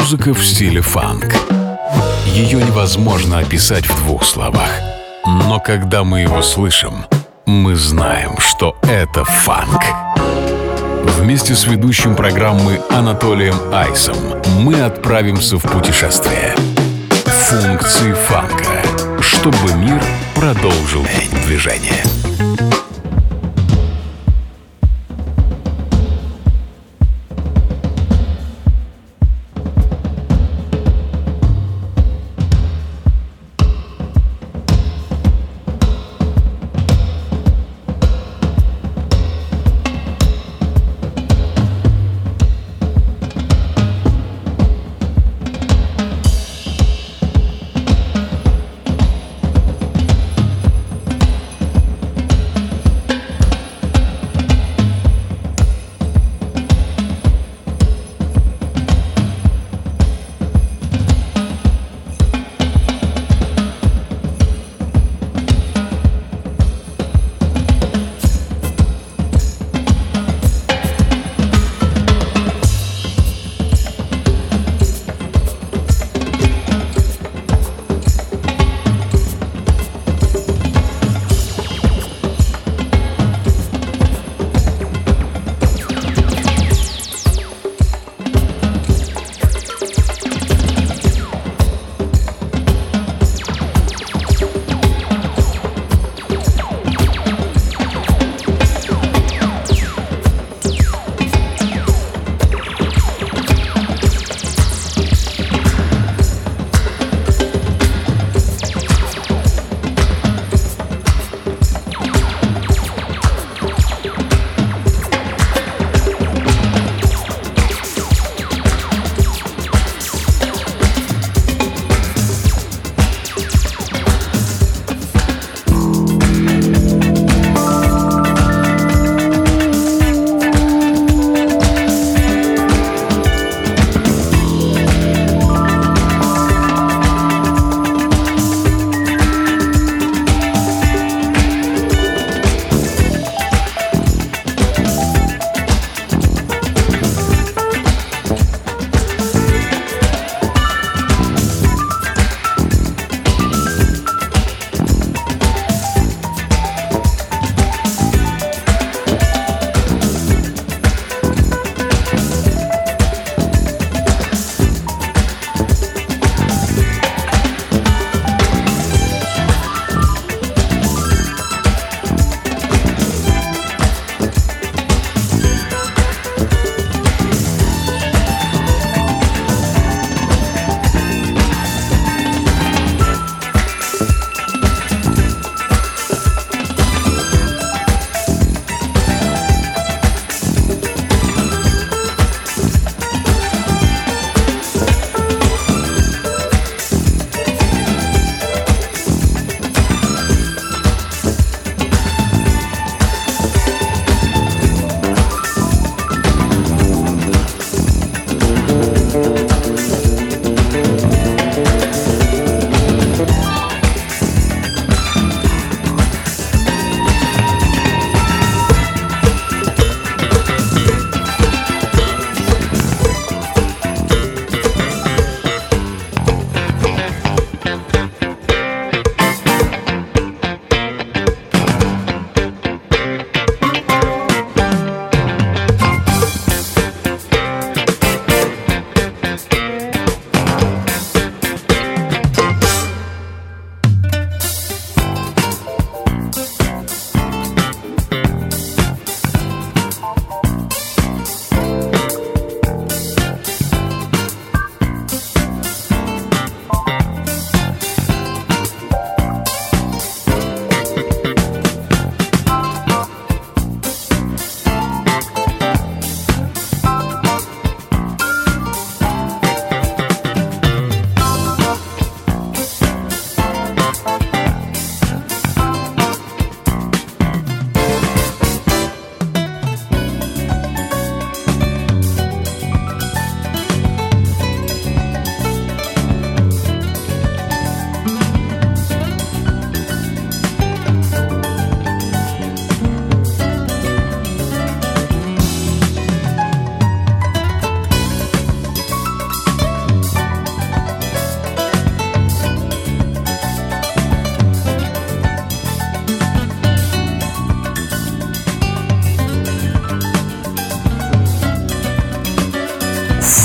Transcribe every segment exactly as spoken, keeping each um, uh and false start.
Музыка в стиле фанк. Ее невозможно описать в двух словах. Но когда мы его слышим, мы знаем, что это фанк. Вместе с ведущим программы Анатолием Айсом мы отправимся в путешествие. Функции фанка, чтобы мир продолжил движение.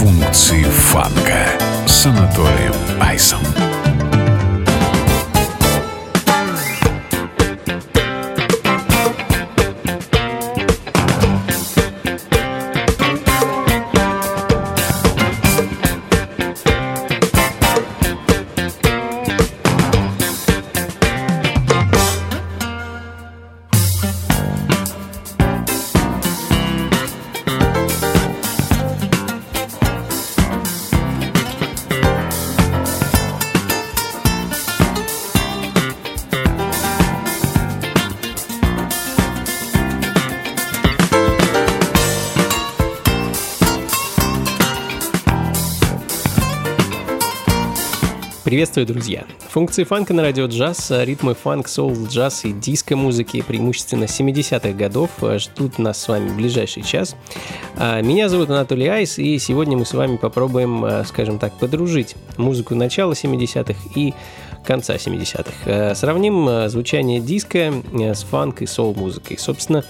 Функции фанка с Анатолием Айсом. Приветствую, друзья! Функции фанка на радио джаз, ритмы фанк, соул, джаз и диско-музыки, преимущественно семидесятых годов, ждут нас с вами в ближайший час. Меня зовут Анатолий Айс, и сегодня мы с вами попробуем, скажем так, подружить музыку начала семидесятых и конца семидесятых. Сравним звучание диска с фанк и соул-музыкой. Собственно,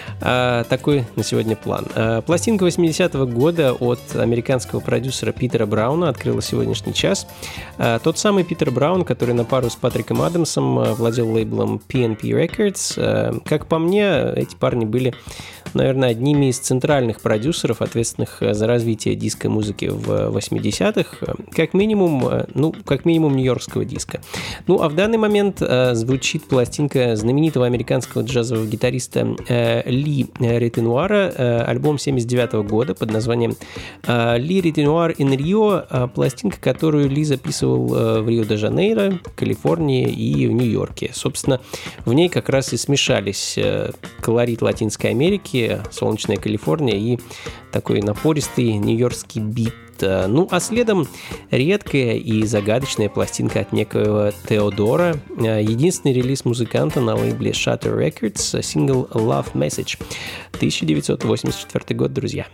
такой на сегодня план. Пластинка восьмидесятого года от американского продюсера Питера Брауна открыла сегодняшний час. Тот самый Питер Браун, который на пару с Патриком Адамсом владел лейблом пи эн пи Records. Как по мне, эти парни были, наверное, одними из центральных продюсеров, ответственных за развитие диско-музыки в восьмидесятых, как минимум, ну, как минимум нью-йоркского диска. Ну, а в данный момент звучит пластинка знаменитого американского джазового гитариста Ли Ретенуара, альбом семьдесят девятого года под названием Ли Ретенуар in Rio, пластинка, которую Ли записывал в Рио-де-Жанейро, Калифорнии и в Нью-Йорке. Собственно, в ней как раз и смешались колорит Латинской Америки, солнечная Калифорния и такой напористый нью-йоркский бит. Ну, а следом редкая и загадочная пластинка от некоего Теодора, единственный релиз музыканта на лейбле Shutter Records, сингл Love Message, тысяча девятьсот восемьдесят четвёртый год, друзья.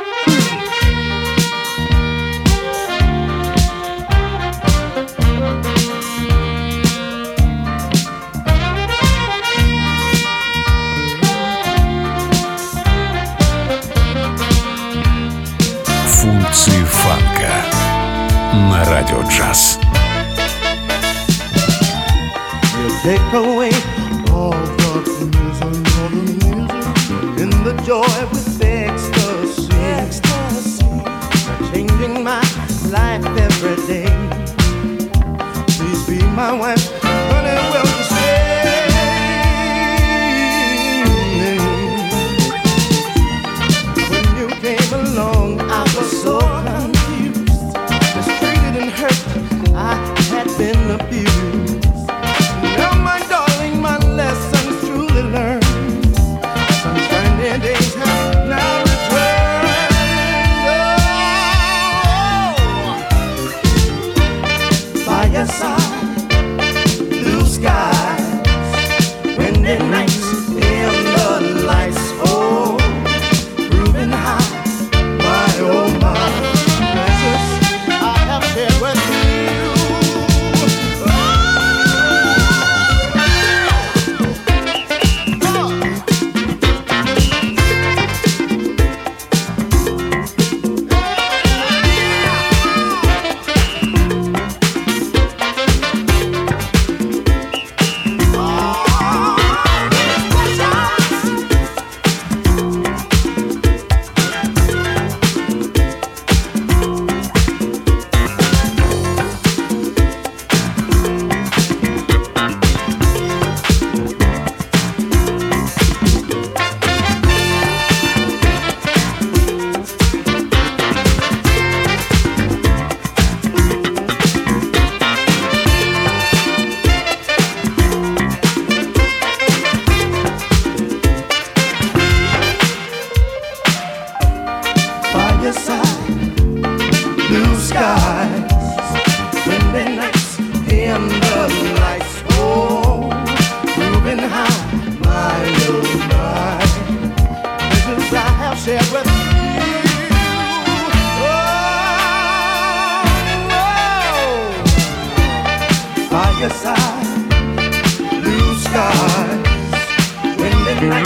Функции фанка на радио джаз. Take away all the misery, all the misery, in the joy with ecstasy, ecstasy. Changing my life every day. Please be my wife, honey, will you stay? When you came along, I was so confused, mistreated and hurt. I had been abused. Now, my darling, my lessons truly learned. Sunshine days have now returned. Oh, by your side, blue skies, windy nights, in the lights. Oh, proving how my oh my pleasures I have shared with you.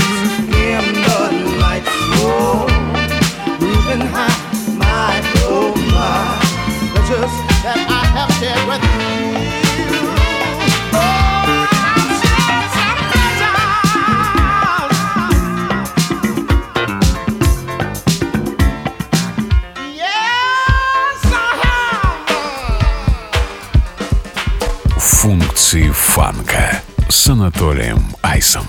Nights, in the lights, oh, moving high, my oh. Функции фанка с Анатолием Айсом.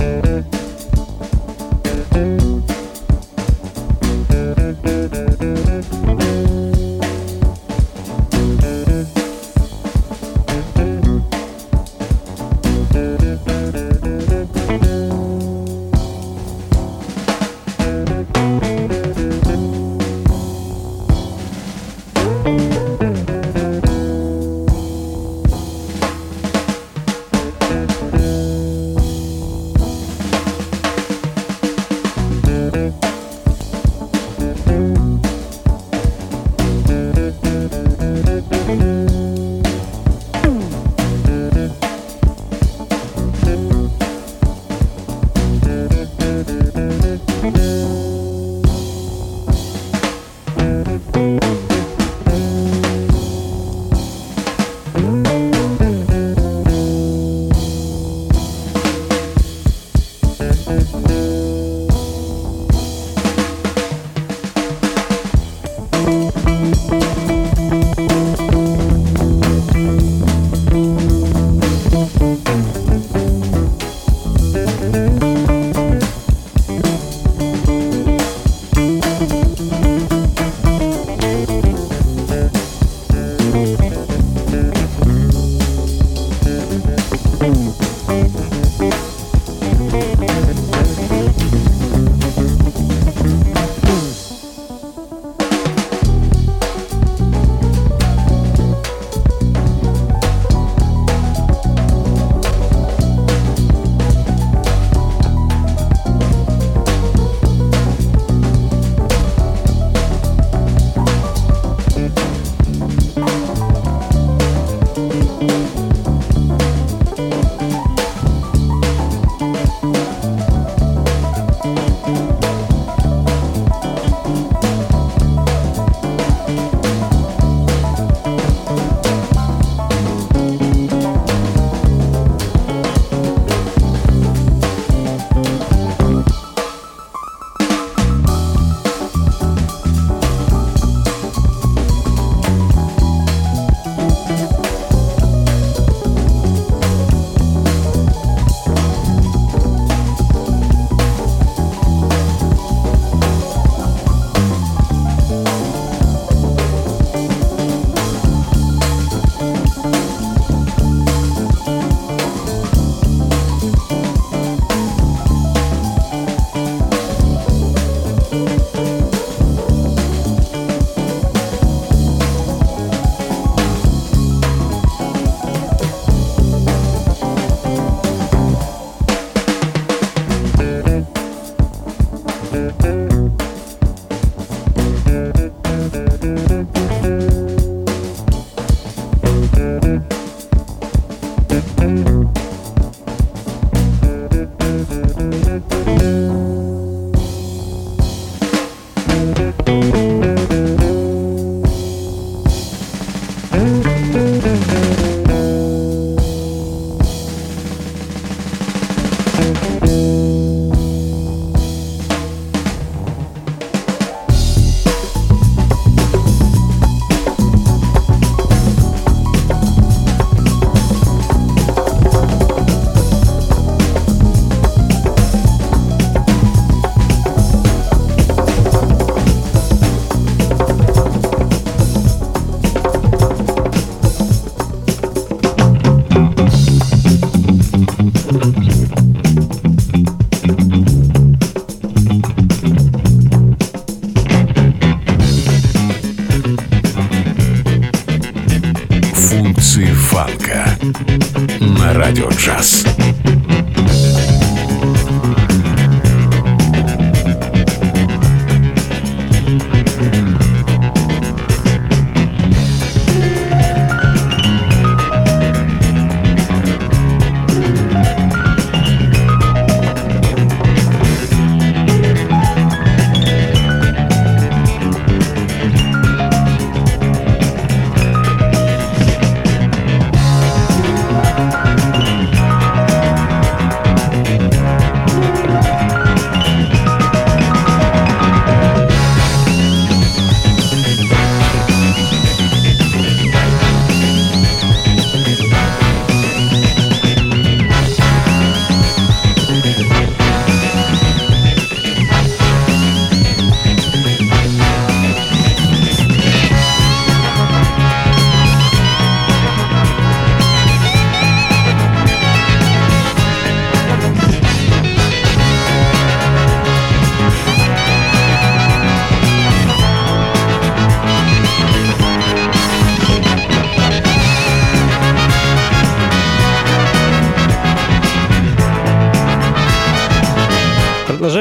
на Радио Джаз.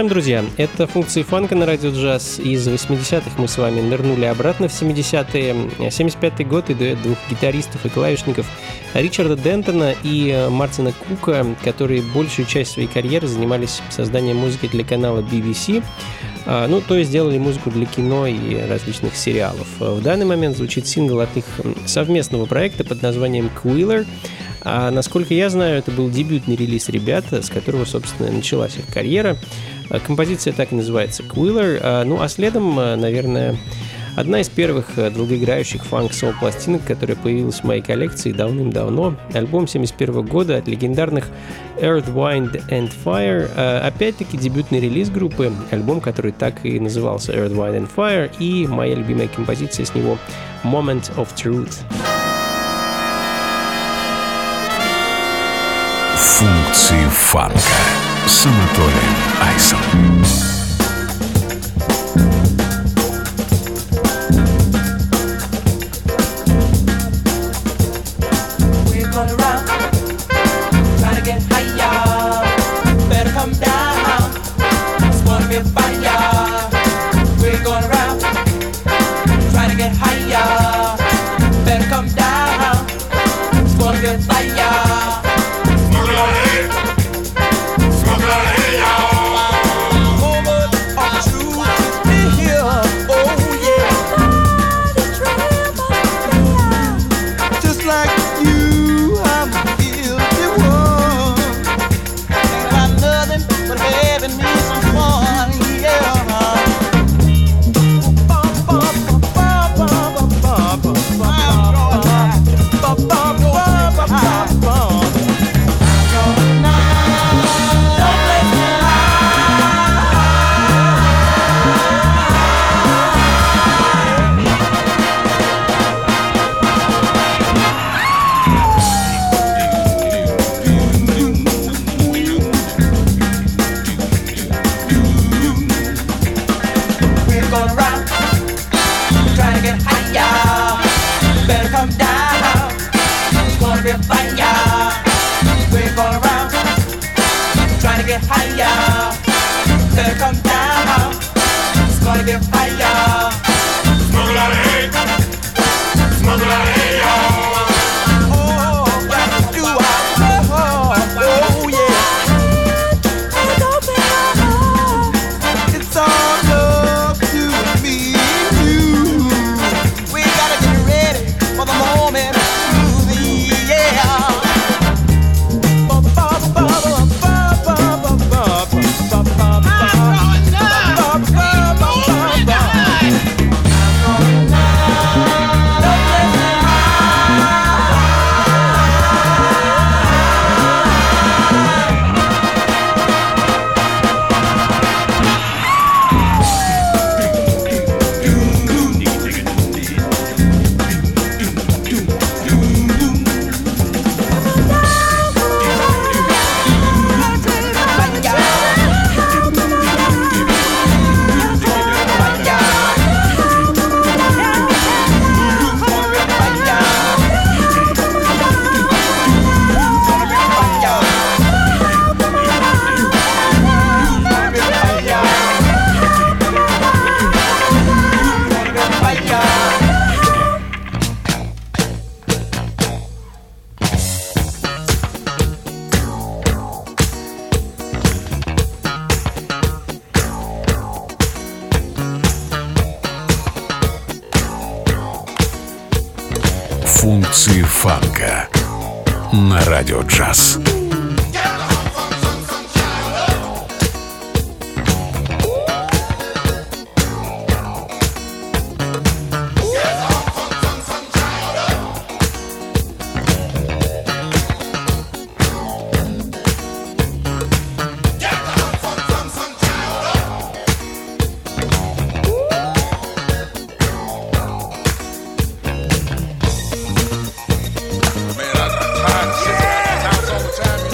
чем, друзья, это функции фанка на радио джаз. Из восьмидесятых мы с вами нырнули обратно в семидесятые. семьдесят пятый год и дуэт двух гитаристов и клавишников Ричарда Дентона и Мартина Кука, которые большую часть своей карьеры занимались созданием музыки для канала би би си. Ну, то есть делали музыку для кино и различных сериалов. В данный момент звучит сингл от их совместного проекта под названием «Quiller». А насколько я знаю, это был дебютный релиз ребят, с которого, собственно, началась их карьера. Композиция так и называется «Quiller». Ну, а следом, наверное, одна из первых долгоиграющих фанк-сол пластинок, которая появилась в моей коллекции давным-давно. Альбом семьдесят первого года от легендарных Earth, Wind and Fire. Опять-таки дебютный релиз группы, альбом, который так и назывался Earth, Wind and Fire, и моя любимая композиция с него Moment of Truth. Функции фанка с Анатолием Айсом. Функции фанка на радио джаз. Man, I, I, I,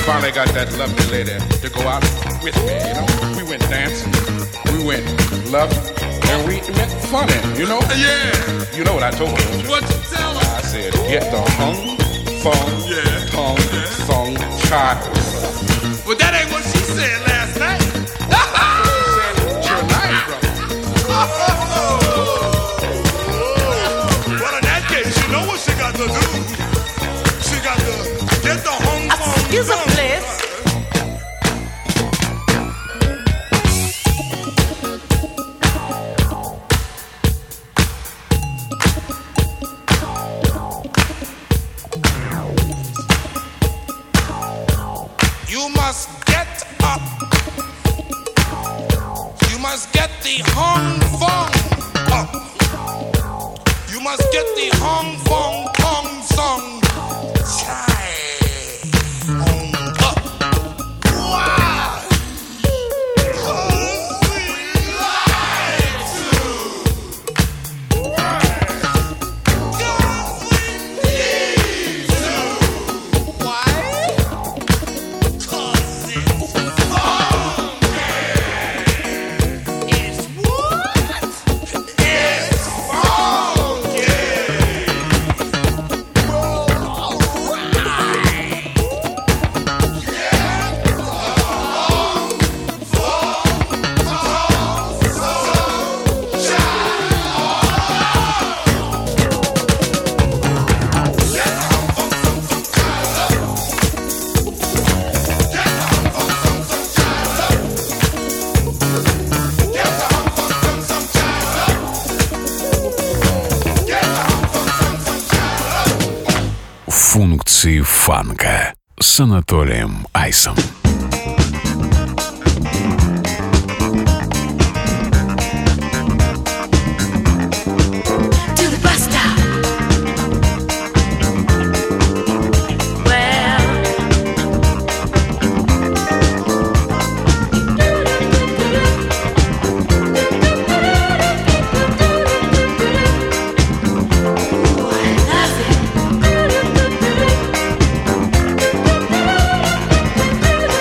finally got that lovely lady to go out with me, you know. We went dancing, we went loving, and we went funny, you know. Yeah. You know what I told her. What you tell her? I said, get the hung, fung, Yeah. tongue, Yeah. sung, child. Well, that ain't what she said last night. Tonight, brother. Well, in that case, you know what she got to do. She got to get the hung fung. Excuse me, please. You must get up. You must get the hung fung up. You must get the hung fung tong song. Chai hung up. Wow. 'Cause we like to. 'Cause we need to. Why? 'Cause it's funky. It's what? It's funky. Функции фанка с Анатолием Айсом. To the bus stop. Well, I love it.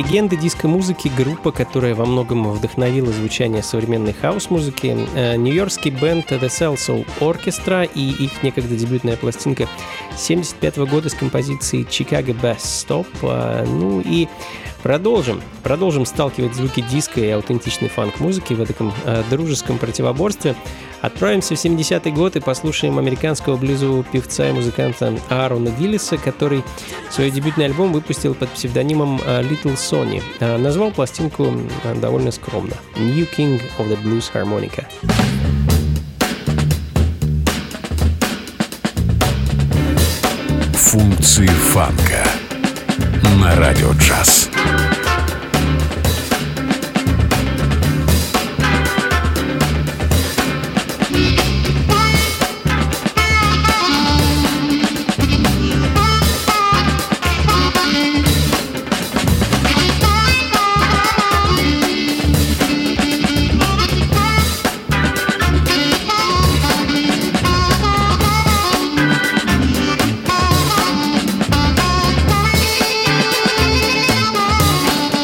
Легенды диско-музыки, группа, которая во многом вдохновила звучание современной хаус-музыки, нью-йоркский бенд The Salsoul Orchestra и их некогда дебютная пластинка семьдесят пятого года с композицией Chicago Bass Stop. Ну и Продолжим. Продолжим сталкивать звуки диска и аутентичной фанк-музыки в этом э, дружеском противоборстве. Отправимся в семидесятый год и послушаем американского блюзового певца и музыканта Аарона Гиллиса, который свой дебютный альбом выпустил под псевдонимом э, Little Sonny. Э, назвал пластинку э, довольно скромно «New King of the Blues Harmonica». Функции фанка на радио джаз. Thank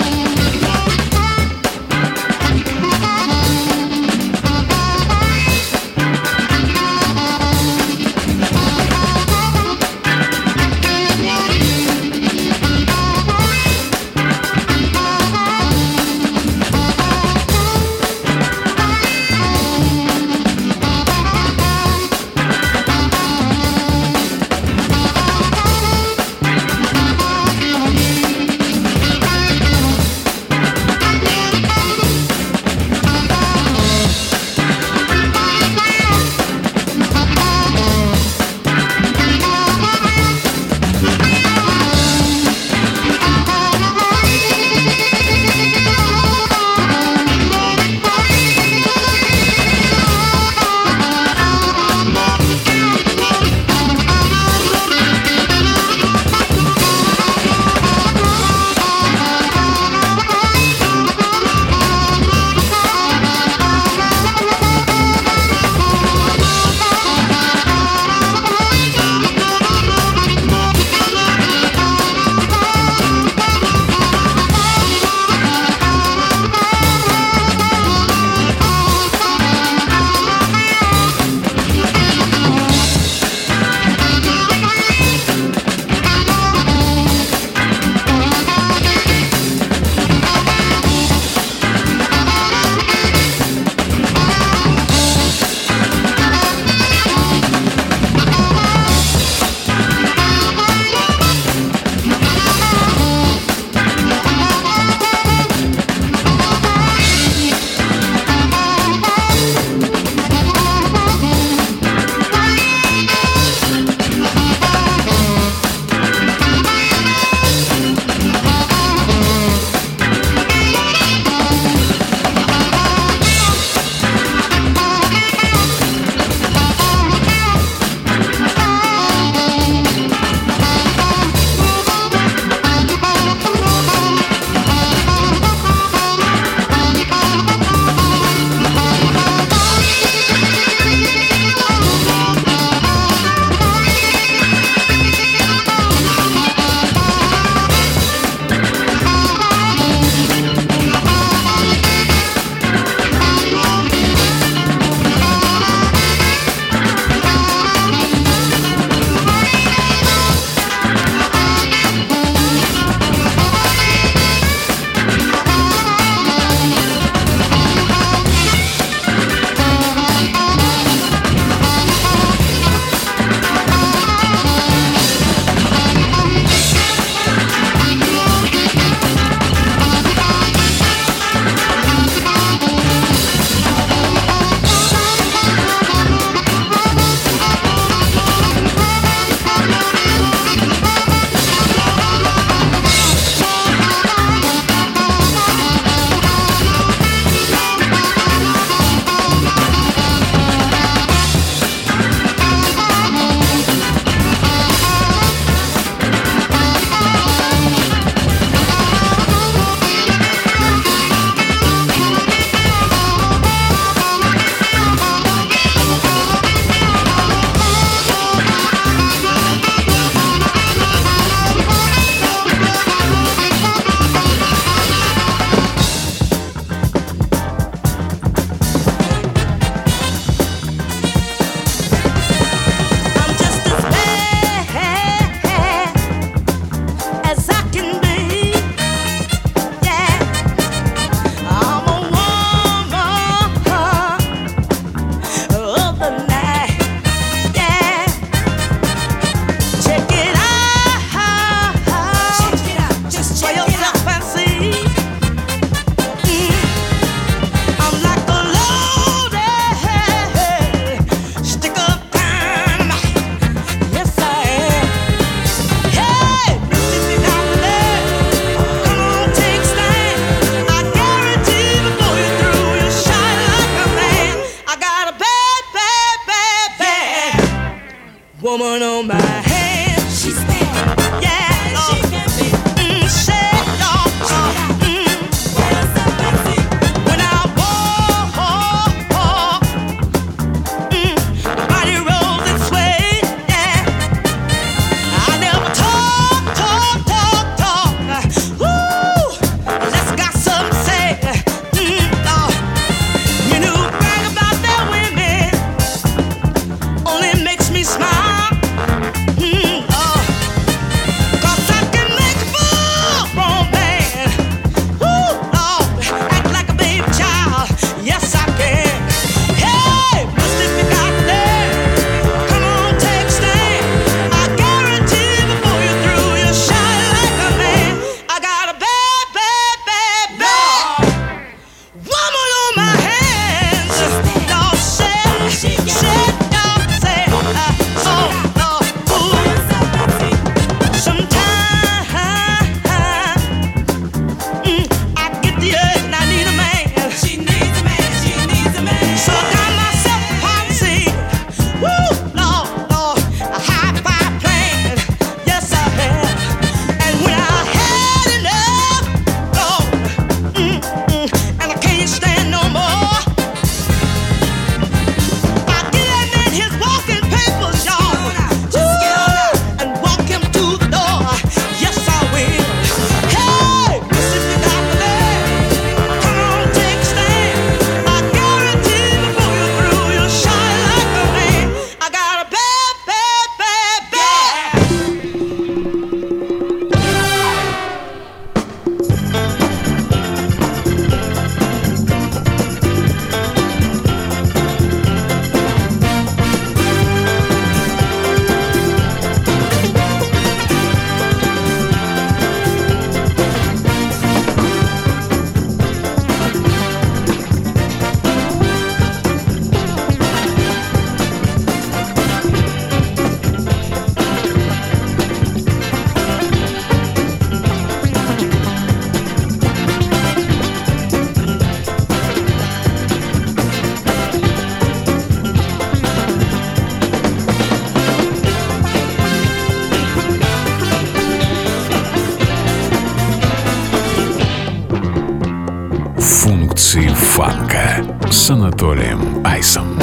woman on my hand. She's bad. Yeah, Lord. She can be. Mm, say, Lord. Mm. When I walk, mm, body rolls and sways. Yeah. I never talk, talk, talk, talk. Woo, let's got something to say. Mm, Lord. You know, brag about that women only makes me smile. Mm, oh. 'Cause I can make a fool from a man. Woo, Lord, act like a baby child. Yes, I can. Hey, but if you got that, come on, take a stand. I guarantee before you're through, you'll shine like a man. I got a bad, bad, bad, bad woman on my hands. Lord, say, say, Lord, say, uh, oh, Lord, ooh. Sometimes mm, I get the urge and I need a man. She needs a man. She needs a man. So I got myself a policy. Woo, Lord, Lord, a high five plan. Yes, I have. And when I had enough, Lord, mm, mm, and I can't stand no more, I get that man his walking papers, y'all. Woo, and walk him to the door. Yes, I will. Hey, listen, you got the man. Come on, take a stand. I guarantee before you're through, you'll shine like a man. I got a bad, bad, bad, bad. Функции фанка с Анатолием Айсом.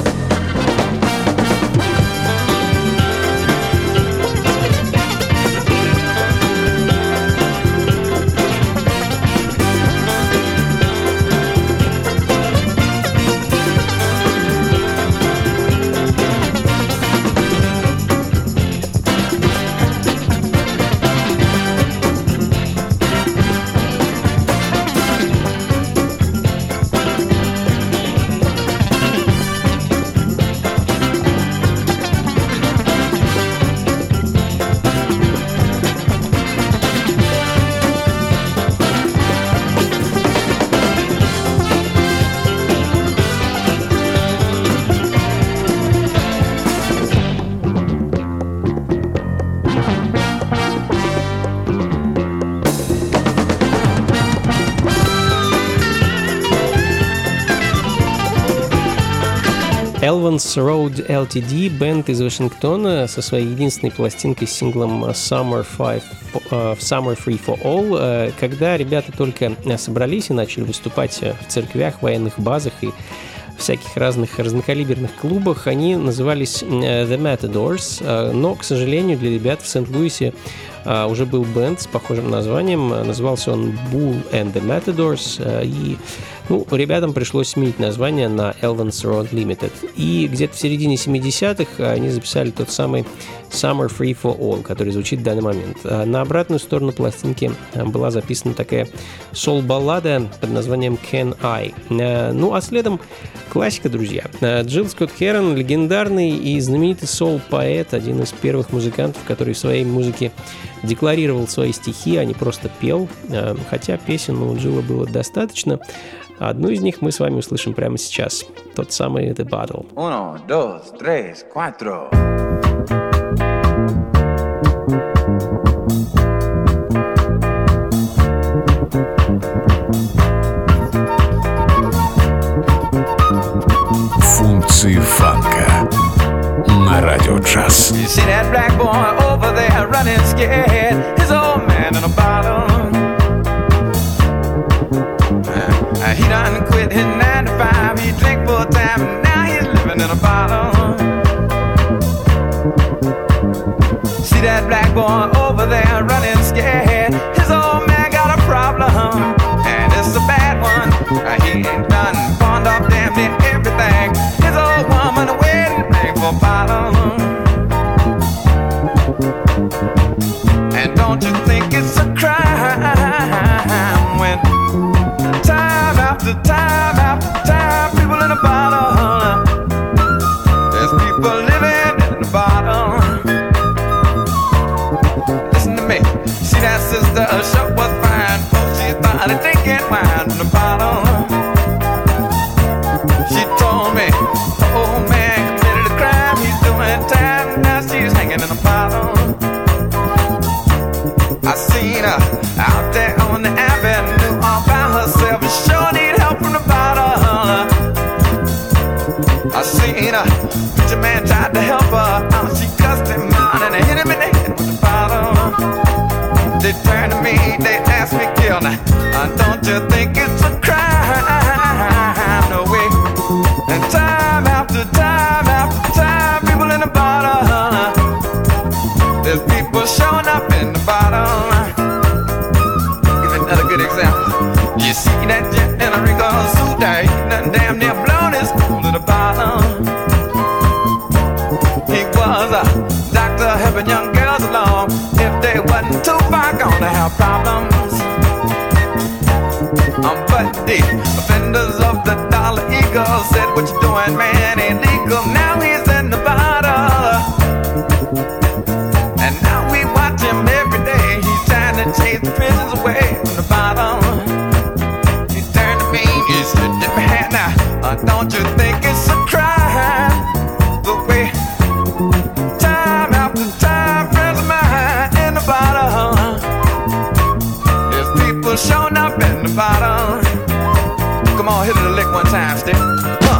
Elvan's Road эл ти ди, бенд из Вашингтона со своей единственной пластинкой с синглом Summer, five, uh, Summer Free for All. Uh, когда ребята только собрались и начали выступать в церквях, военных базах и всяких разных разнокалиберных клубах, они назывались uh, The Matadors, uh, но, к сожалению, для ребят в Сент-Луисе uh, уже был бенд с похожим названием, uh, назывался он Bull and the Matadors, uh, и ну, ребятам пришлось сменить название на Elvan's Road Limited. И где-то в середине семидесятых они записали тот самый Summer Free for All, который звучит в данный момент. На обратную сторону пластинки была записана такая сол-баллада под названием Can I. Ну, а следом классика, друзья. Джилл Скотт Херон, легендарный и знаменитый сол-поэт, один из первых музыкантов, который в своей музыке декларировал свои стихи, а не просто пел. Хотя песен у Джилла было достаточно. Одну из них мы с вами услышим прямо сейчас. Тот самый The Battle. Uno, dos, tres, cuatro. Функции фанка на радио джаз. You see that black boy over there running scared. His old man in a bottle. Uh, he done quit his nine to five. He drink full time and now he's living in a bottle. See that black boy over there running scared. His old man got a problem, and it's a bad one. Uh, he ain't done pawned off damn near everything. His old woman waiting for a bottle. And don't you think it's a crime when time after time after time people in a bottle, there's people living in the bottle. Listen to me, see that sister sure was fine, folks, she started drinking wine in the bottle. She told me, oh man committed a crime, he's doing time, now she's hanging in a bottle. I seen her out there on the avenue all by herself, and sure need help from the bottle. I seen her, preacher man tried to help her out, she cussed him out and hit him in the head with the bottle. They turned to me, they asked me, kill now, uh, don't you think it's a crime? No way. And time after time after time, people in the bottle, there's people showing up in the bottle. Give another good example. You see that jet in a Rico suit there, he done damn near blown his cool to the bottle. He was a doctor helping young girls along. If they wasn't too far gone to have problems. Um, but the offenders of the Dollar Eagle said, what you doing, man, ain't legal. Now he's in the bottle. And now we watch him every day. He's trying to chase the prisons away from the bottle. He turned to me, he said, man, now, uh, don't you think it's a crime? The way time after time, friends of mine in the bottle. There's people showing up in the bottle. Come on, hit it a lick one time, stick. Huh.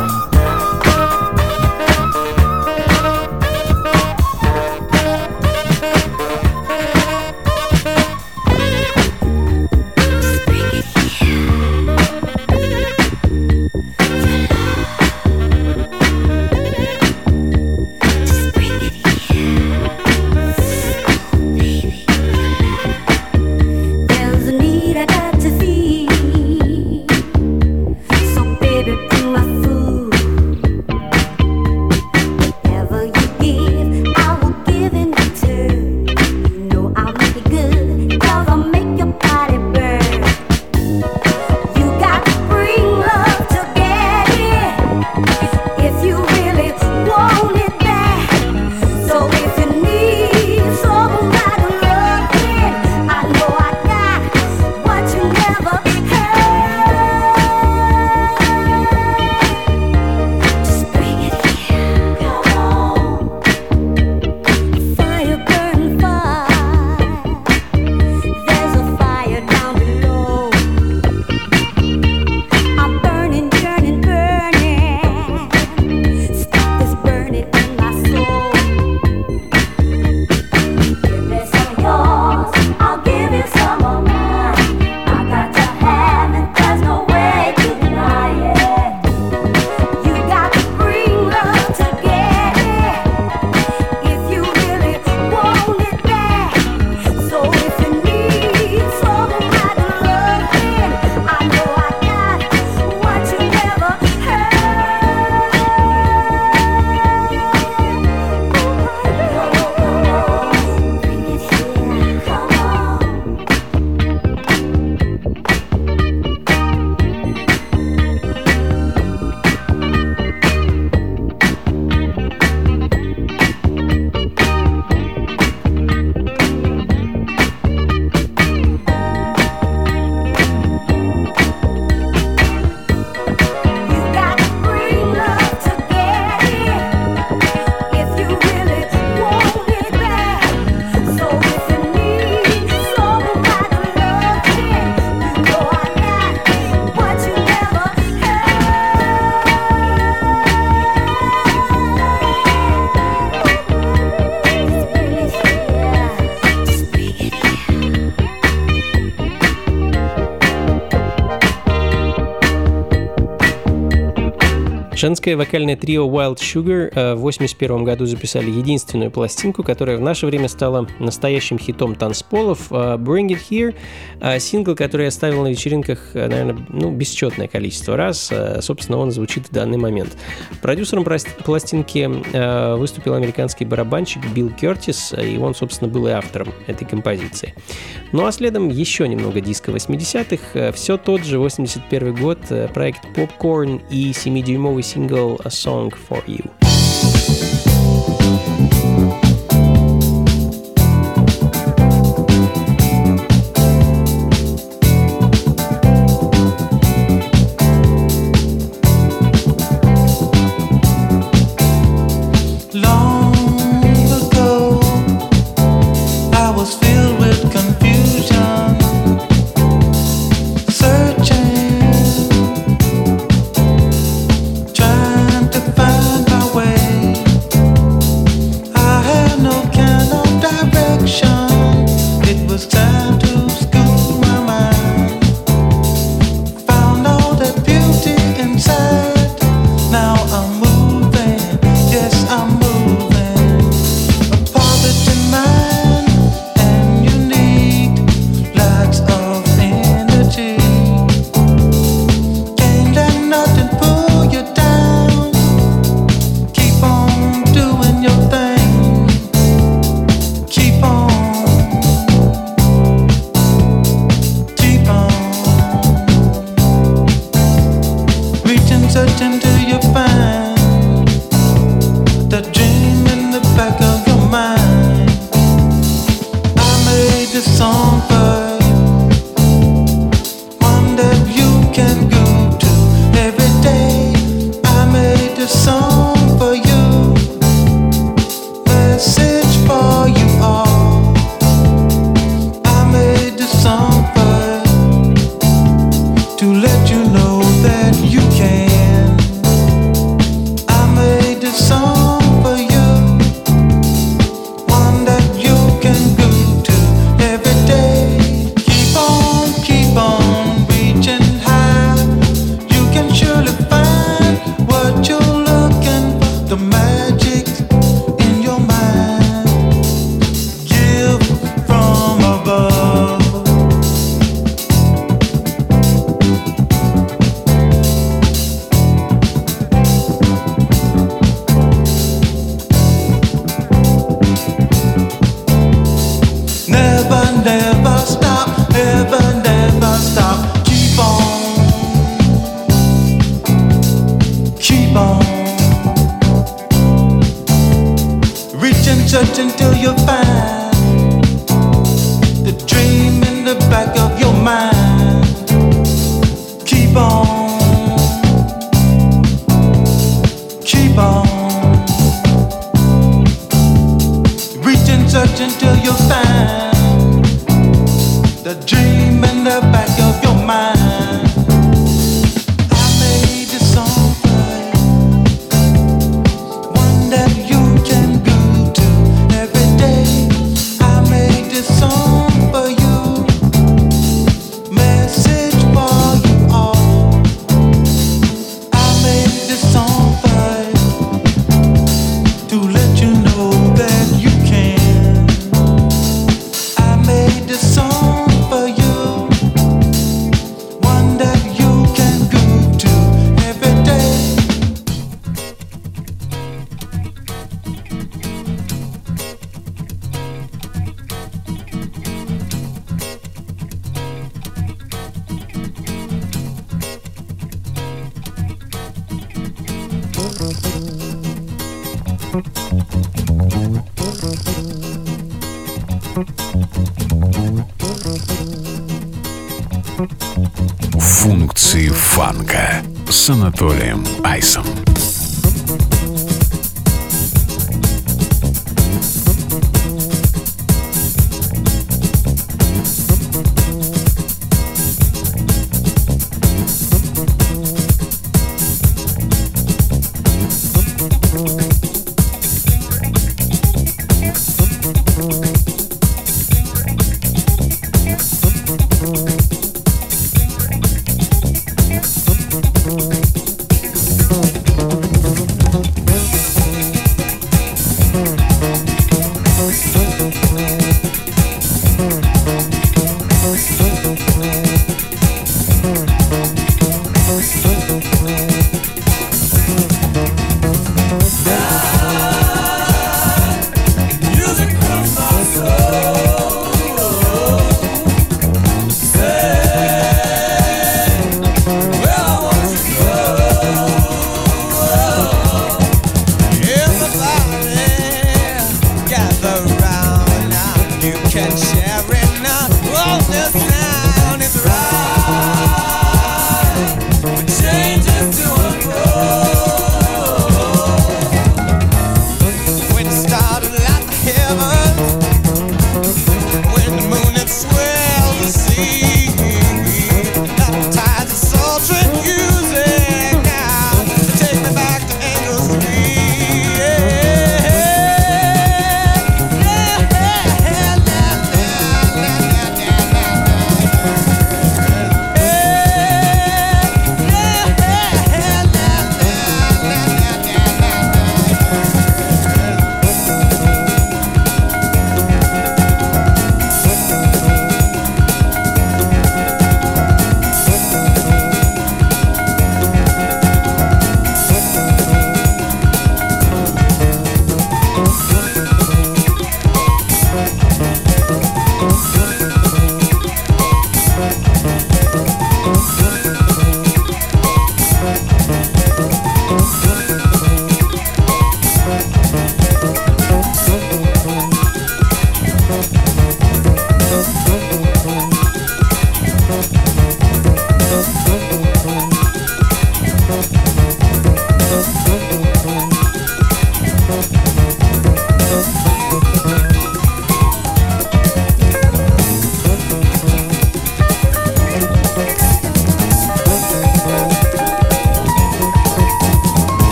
There's a need I got to feed. So baby, bring my food. Женское вокальное трио Wild Sugar в восемьдесят первом году записали единственную пластинку, которая в наше время стала настоящим хитом танцполов. Bring It Here, сингл, который я ставил на вечеринках, наверное, ну, бесчетное количество раз. Собственно, он звучит в данный момент. Продюсером пластинки выступил американский барабанщик Билл Кертис, и он, собственно, был и автором этой композиции. Ну а следом еще немного диска восьмидесятых. Все тот же восемьдесят первый год, проект Popcorn и семидюймовый сингл A Song For You. Функции фанка с Анатолием Айсом.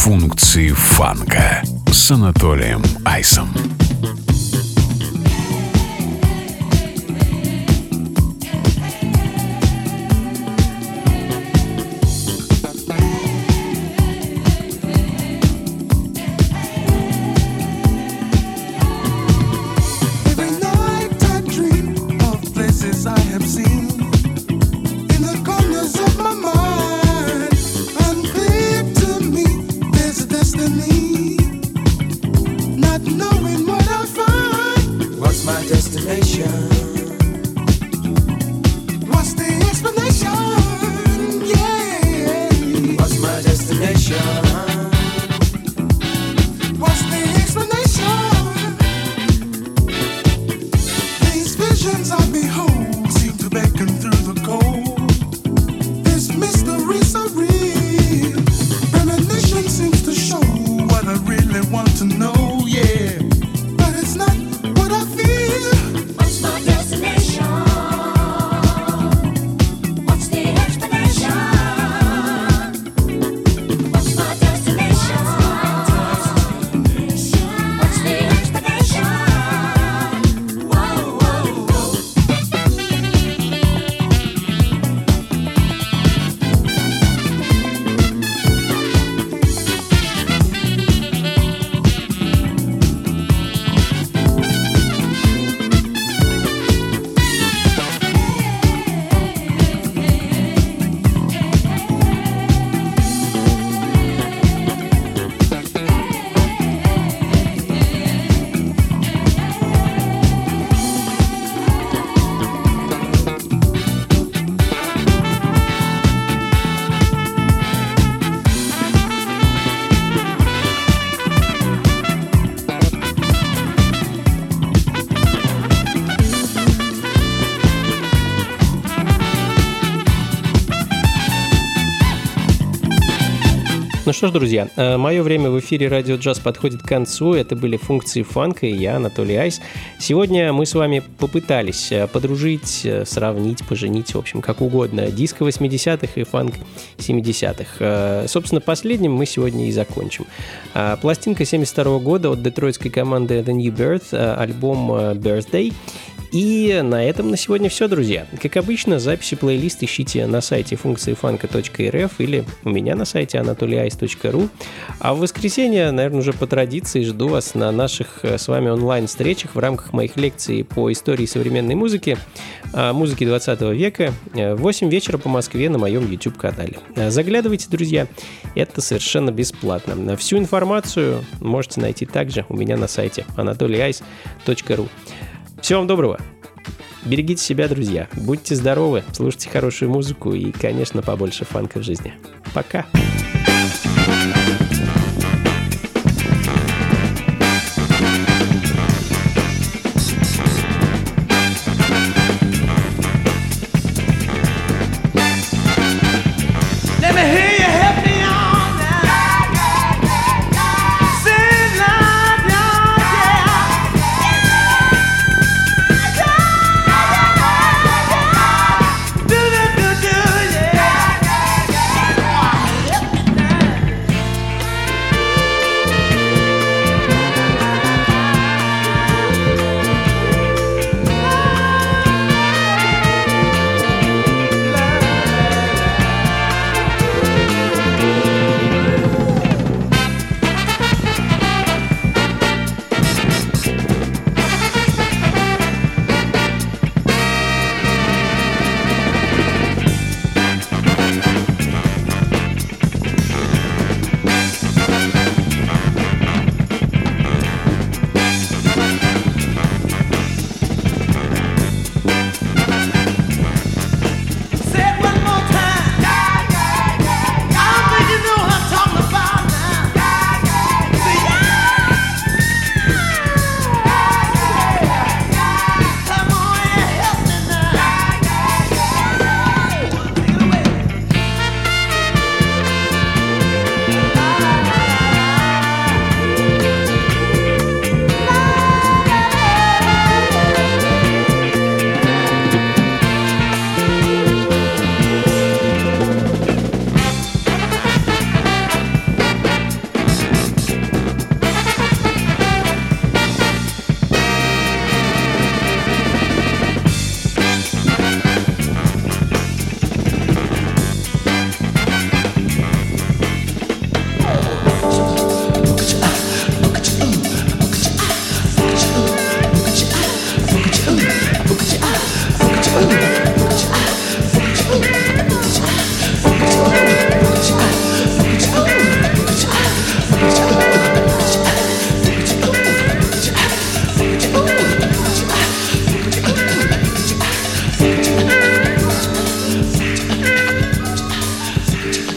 Функции фанка с Анатолием Айсом. Ну что ж, друзья, мое время в эфире Радио Джаз подходит к концу. Это были функции фанка и я, Анатолий Айс. Сегодня мы с вами попытались подружить, сравнить, поженить, в общем, как угодно, диско восьмидесятых и фанк семидесятых. Собственно, последним мы сегодня и закончим. Пластинка семьдесят второго года от детройтской команды The New Birth, альбом Birthday. И на этом на сегодня все, друзья. Как обычно, записи плейлист ищите на сайте функции фанка точка эр эф или у меня на сайте анатолий айс точка ру. А в воскресенье, наверное, уже по традиции жду вас на наших с вами онлайн-встречах в рамках моих лекций по истории современной музыки, музыки двадцатого века, в восемь вечера по Москве на моем YouTube-канале. Заглядывайте, друзья, это совершенно бесплатно. Всю информацию можете найти также у меня на сайте анатолий айс точка ру. Всего вам доброго. Берегите себя, друзья. Будьте здоровы, слушайте хорошую музыку и, конечно, побольше фанка в жизни. Пока. Yeah.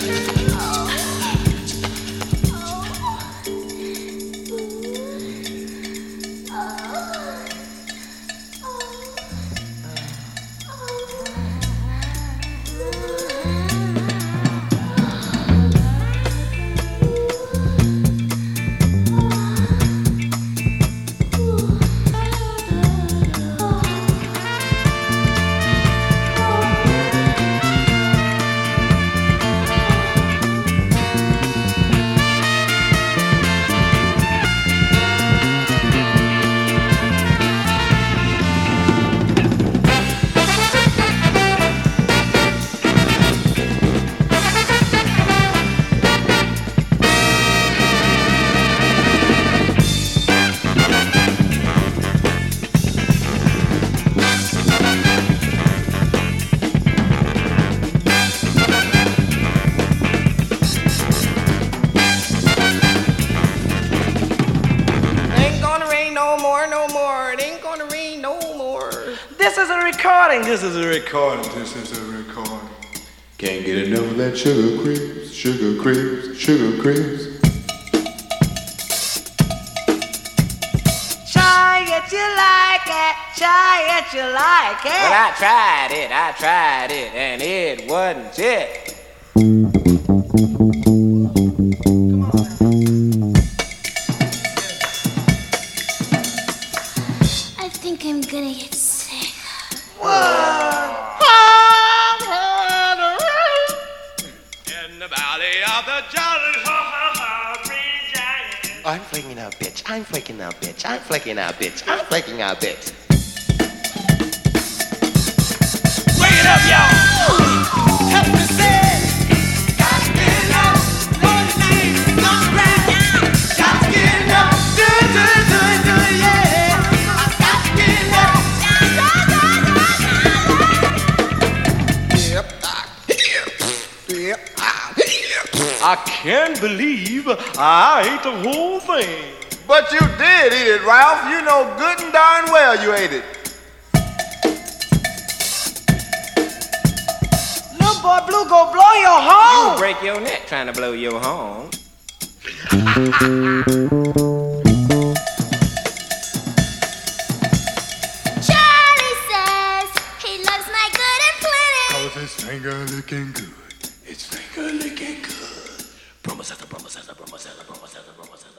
This is a recording. This is a recording. This is a recording. Can't get enough of that sugar cribs, sugar cribs, sugar cribs. Try it, you like it. Try it, you like it. Well, I tried it, I tried it, and it wasn't it. I think I'm gonna get sick. In the valley of the jolly I'm flaking out, bitch. I'm flaking out, bitch. I'm flaking out, bitch. I'm flaking out, bitch. Bring it up, y'all. Help me say. Got to get up. Lord, name, don't rap. Got to get up. Do, do, do, do, yeah. Got to get up. Yep, yep, I can't believe I ate the whole thing. But you did eat it, Ralph. You know good and darn well you ate it. Little boy Blue go blow your horn. You break your neck trying to blow your horn. Charlie says he loves my good and plenty. Cause it's finger licking good. It's finger licking good. Bromacessa, bromacessa, bromacessa, bromacessa, bromacessa.